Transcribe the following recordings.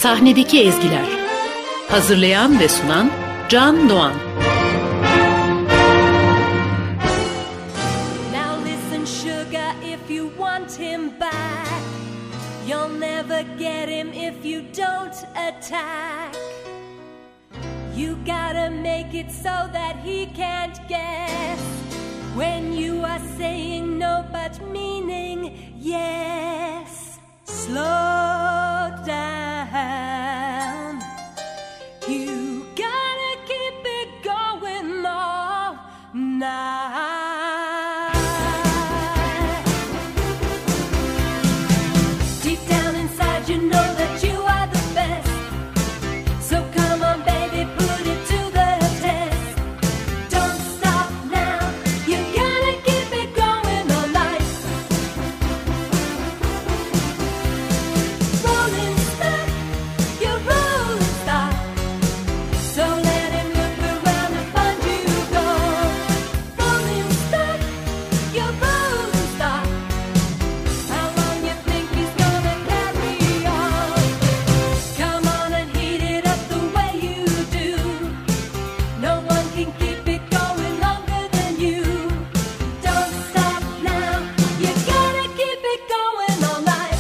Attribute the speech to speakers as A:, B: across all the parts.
A: Sahnedeki ezgiler. Hazırlayan ve sunan Can Doğan.
B: Now listen sugar, if you want him back, you'll never get him if you don't attack. You gotta make it so that he can't guess when you are saying no but meaning yes. Slow down. You gotta keep it going all night. Deep down inside you know that you are the best. So come on baby, put it to the test. Don't stop now. You gotta keep it going all night. Rolling stop, you're rolling stop. So let him look around and find you gone. Rolling stop, you're rolling stop. How long you think he's gonna carry on? Come on and heat it up the way you do. No one can keep it going longer than you. Don't stop now. You gotta keep it going all night.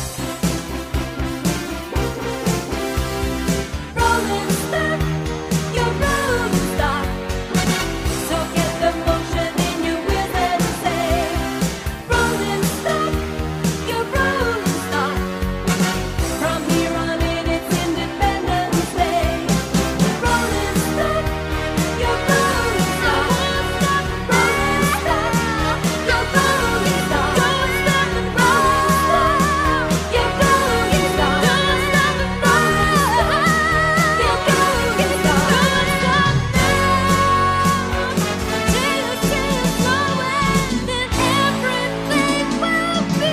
B: Rolling stop, you're rolling stop. So get the motion in your wheels and say, rolling stop, you're rolling stop. From here on in it's Independence Day. Rolling stop, you're rolling stop. Rolling stop, you're rolling stop. Don't stop and roll. You're rolling stop. Don't stop and roll. You're rolling stop. Don't stop now. Till you see it flowing, then everything will be.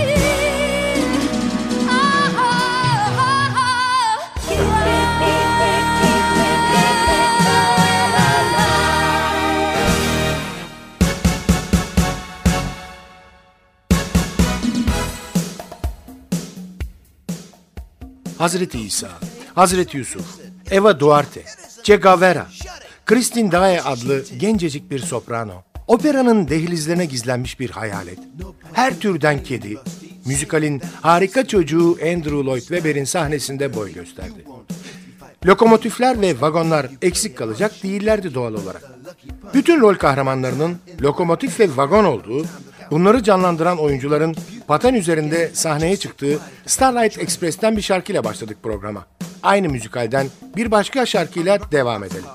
C: Hazreti İsa, Hazreti Yusuf, Eva Duarte, Che Guevara, Christine Daae adlı gencecik bir soprano, operanın dehlizlerine gizlenmiş bir hayalet, her türden kedi, müzikalin harika çocuğu Andrew Lloyd Webber'in sahnesinde boy gösterdi. Lokomotifler ve vagonlar eksik kalacak değillerdi doğal olarak. Bütün rol kahramanlarının lokomotif ve vagon olduğu, bunları canlandıran oyuncuların paten üzerinde sahneye çıktığı Starlight Express'ten bir şarkıyla başladık programa. Aynı müzikalden bir başka şarkıyla devam edelim.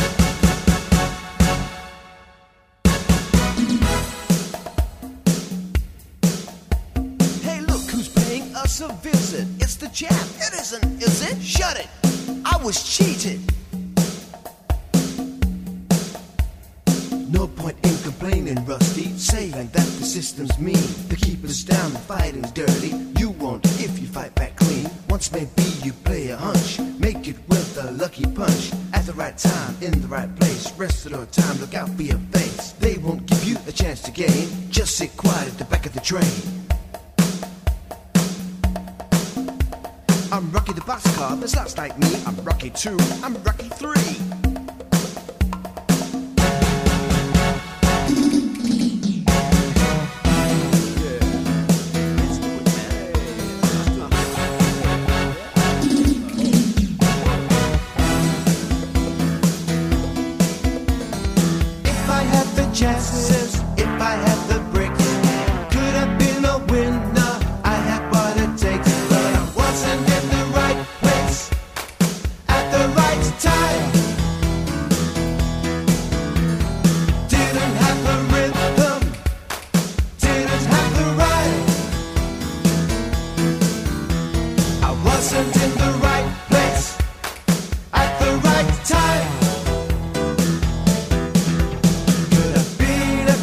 D: Hey, look who's paying us a visit. It's the champ. It isn't, is it? Shut it. I was cheated. No point in complaining, Rusty, saying that the system's mean to keep us down and fighting dirty. You won't if you fight back clean. Once maybe you play a hunch, make it with a lucky punch. At the right time, in the right place. Rest of the time, look out for your face. They won't give you a chance to gain. Just sit quiet at the back of the train. I'm Rocky the boxcar, there's lots like me. I'm Rocky 2, I'm Rocky 3. If I had the chances, if I had the bricks, could have been a winner. I had what it takes, but I wasn't in the right place at the right time. Didn't have the rhythm, didn't have the rhyme. I wasn't in the right place at the right time. Could have been a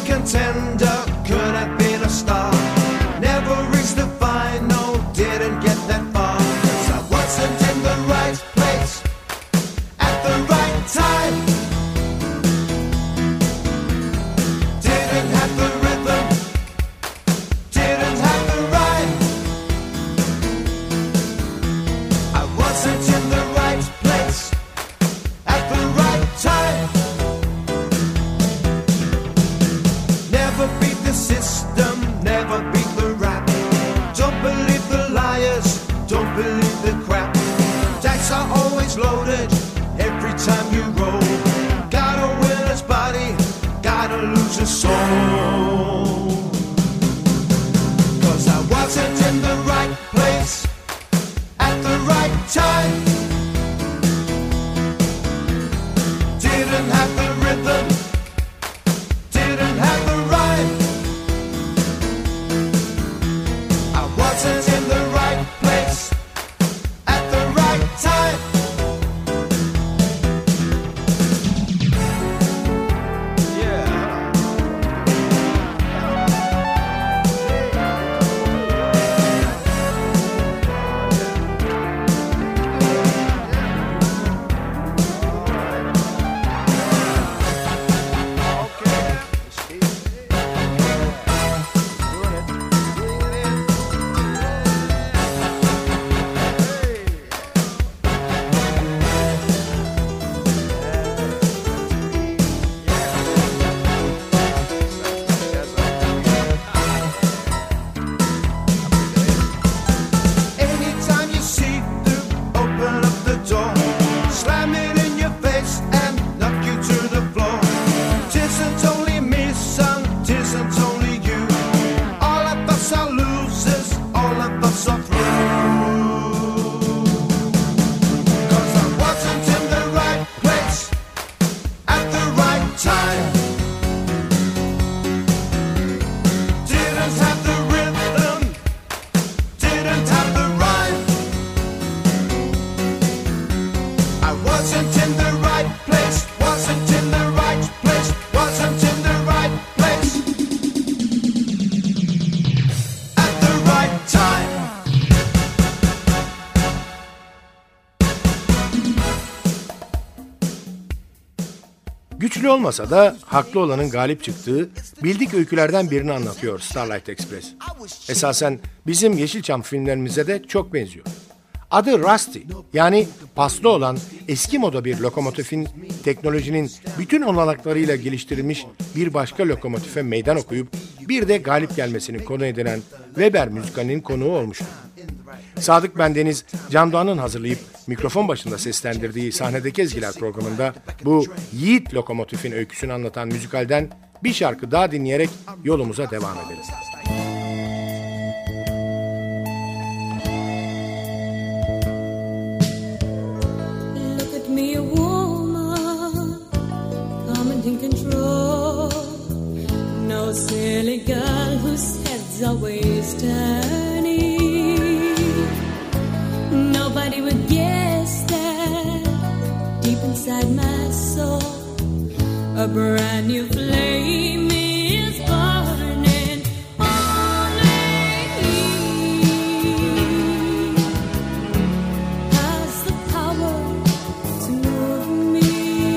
D: of crap. Dice are always loaded every time you roll. Gotta win his body, gotta lose his soul. 'Cause I wasn't in the right place at the right time. Didn't have the rhythm, didn't have the rhyme. I wasn't in the right place at the right time. Anytime you see through, open up the door, slam it in your face and knock you to the floor. 'Tisn't only me, son, 'tisn't only you. All of us are losers, all of us are through. 'Cause I wasn't in the right place at the right time. Didn't have the rhythm, didn't have the rhyme. I wasn't in the right place, wasn't in the right place, wasn't in the right place at the right time.
C: Güçlü olmasa da haklı olanın galip çıktığı bildik öykülerden birini anlatıyor Starlight Express. Esasen bizim Yeşilçam filmlerimize de çok benziyor. Adı Rusty, yani paslı olan eski moda bir lokomotifin teknolojinin bütün olanaklarıyla geliştirilmiş bir başka lokomotife meydan okuyup bir de galip gelmesini konu edinen Weber müzikalinin konuğu olmuştu. Sadık Bendeniz, Can Doğan'ın hazırlayıp mikrofon başında seslendirdiği Sahnedeki Ezgiler programında bu yiğit lokomotifin öyküsünü anlatan müzikalden bir şarkı daha dinleyerek yolumuza devam ederiz.
B: Look at me, a woman, commanding control. No silly girl whose head's always turning. Nobody would guess that deep inside my soul, a brand new flame is burning. Only he has the power to move me,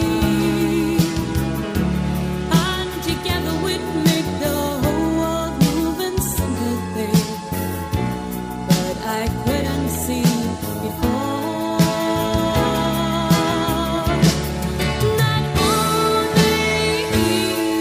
B: and together we'd make the whole world move in sympathy. But I couldn't see before. Not only he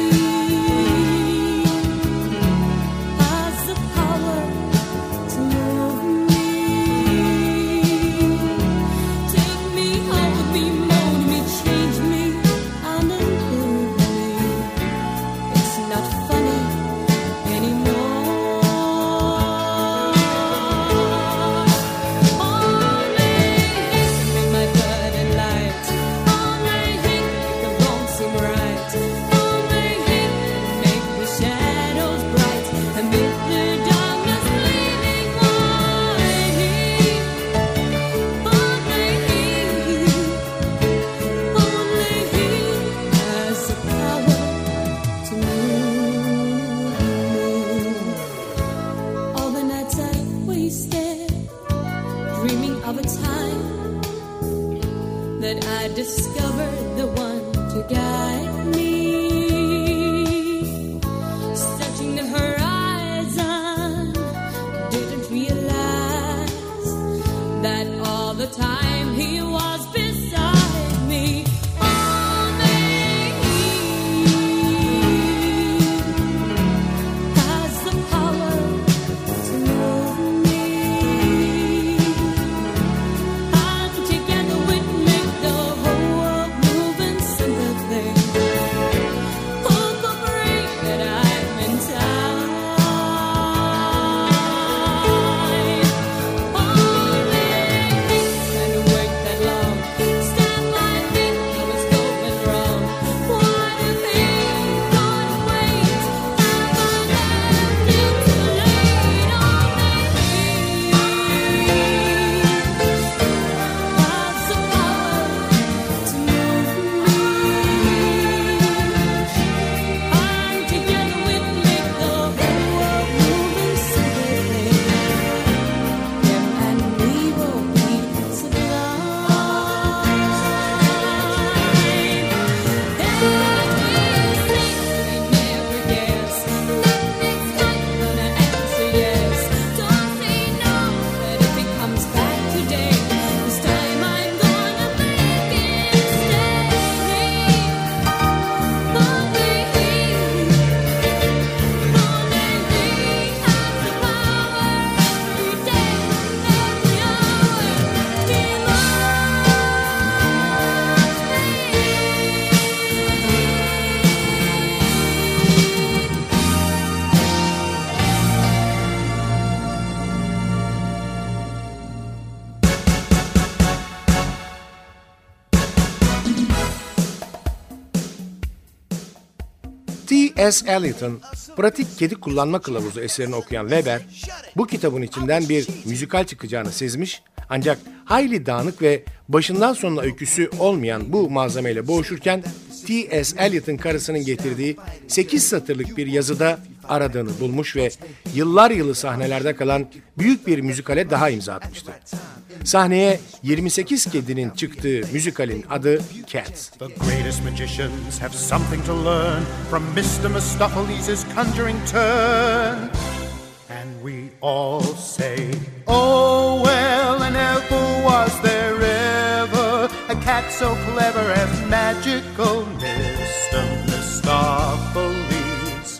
C: T.S. Eliot'un Pratik Kedi Kullanma Kılavuzu eserini okuyan Weber, bu kitabın içinden bir müzikal çıkacağını sezmiş, ancak hayli dağınık ve başından sonuna öyküsü olmayan bu malzemeyle boğuşurken T.S. Eliot'un karısının getirdiği 8 satırlık bir yazıda aradığını bulmuş ve yıllar yılı sahnelerde kalan büyük bir müzikale daha imza atmıştı. Sahneye 28 kedinin çıktığı müzikalin adı Cats.
E: The greatest magicians have something to learn from Mr. Mistopheles' conjuring turn. And we all say, oh well, and never was there ever a cat so clever as magical Mr. Mistopheles.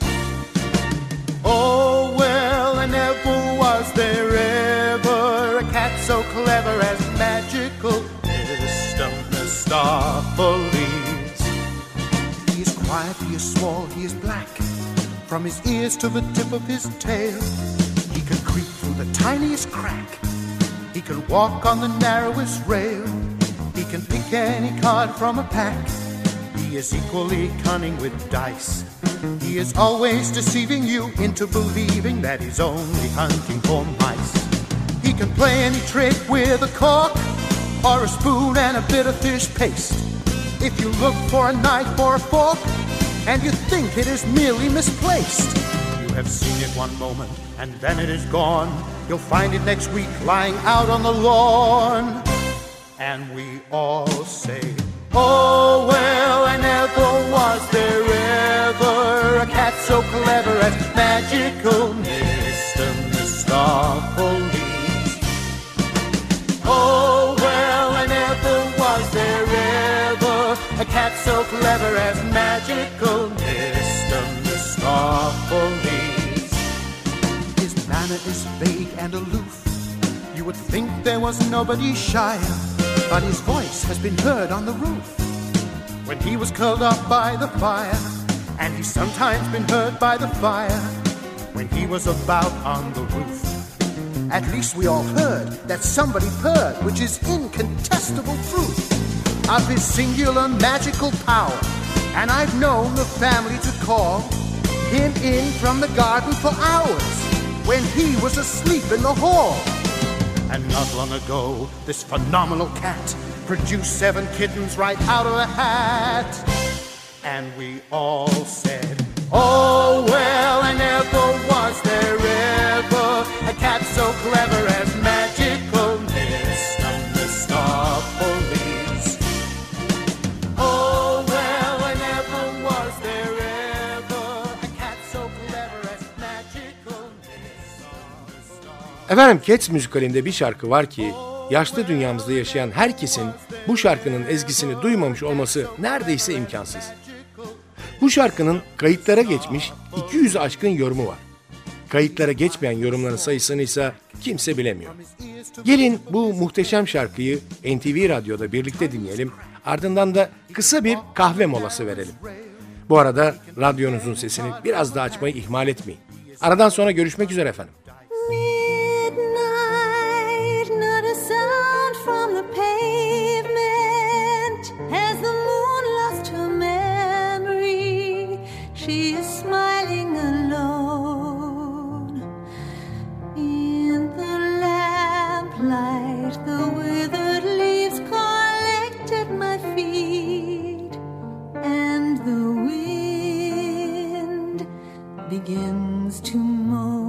E: Oh well, and never was there ever a cat so clever as magical Mr. Mistopheles. He is quiet, he is small, he is black, from his ears to the tip of his tail. He can creep through the tiniest crack. He can walk on the narrowest rail. He can pick any card from a pack. He is equally cunning with dice. He is always deceiving you into believing that he's only hunting for mice. He can play any trick with a cork or a spoon and a bit of fish paste. If you look for a knife or a fork and you think it is merely misplaced, you have seen it one moment and then it is gone. You'll find it next week lying out on the lawn. And we all say, oh well, and never was there ever a cat so clever as magical Mr. Mistopheles. Oh well, and never was there ever a cat so clever as magical Mr. Mistopheles. His manner is vague and aloof. You would think there was nobody shyer, but his voice has been heard on the roof when he was curled up by the fire, and he's sometimes been heard by the fire when he was about on the roof. At least we all heard that somebody purred, which is incontestable proof of his singular magical power, and I've known the family to call him in from the garden for hours when he was asleep in the hall. And not long ago, this phenomenal cat produced 7 kittens right out of a hat. And we all said, oh well, and never was there ever a cat so clever as magical Mr. Mistopheles. Oh well, and never was there ever a cat so clever as magical Mr.
C: Efendim, Cats müzikalinde bir şarkı var ki yaşlı dünyamızda yaşayan herkesin bu şarkının ezgisini duymamış olması neredeyse imkansız. Bu şarkının kayıtlara geçmiş 200'ü aşkın yorumu var. Kayıtlara geçmeyen yorumların sayısını ise kimse bilemiyor. Gelin bu muhteşem şarkıyı NTV Radyo'da birlikte dinleyelim, ardından da kısa bir kahve molası verelim. Bu arada radyonuzun sesini biraz daha açmayı ihmal etmeyin. Aradan sonra görüşmek üzere efendim.
B: Midnight, not a sound from the pavement. Has the moon lost her memory? She is smiling alone. In the lamplight, the withered leaves collect at my feet, and the wind begins to moan.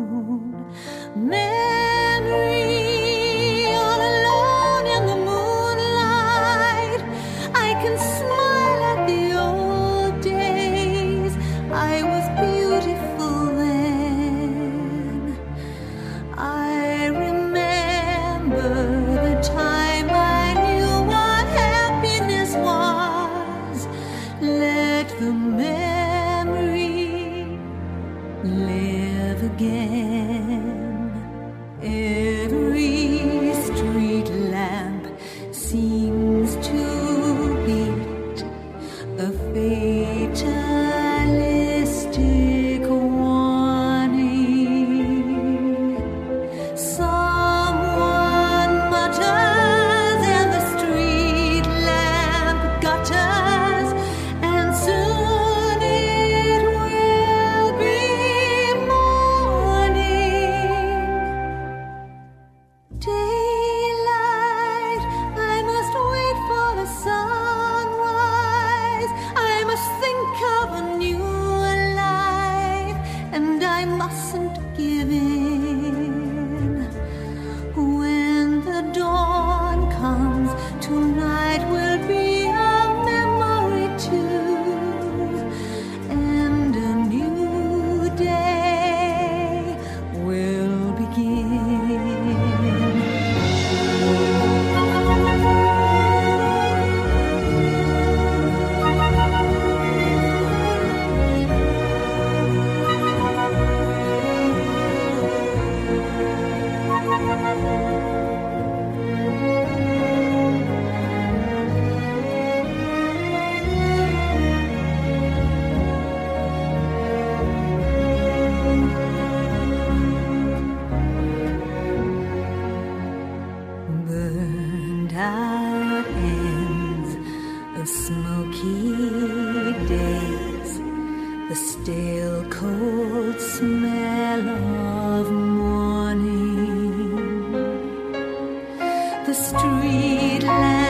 B: Memory, all alone in the moonlight, I can smile at the old days. I was beautiful then. I remember the time I knew what happiness was. Let the memory live again. Every street lamp seems to beat a fatalistic warning. Someone mutters and the street lamp gutters, and soon it will mustn't give in. When the dawn comes, tonight will be a memory too, and a new day will begin. Burned out ends of smoky days, the stale cold smell of morning, the street lamp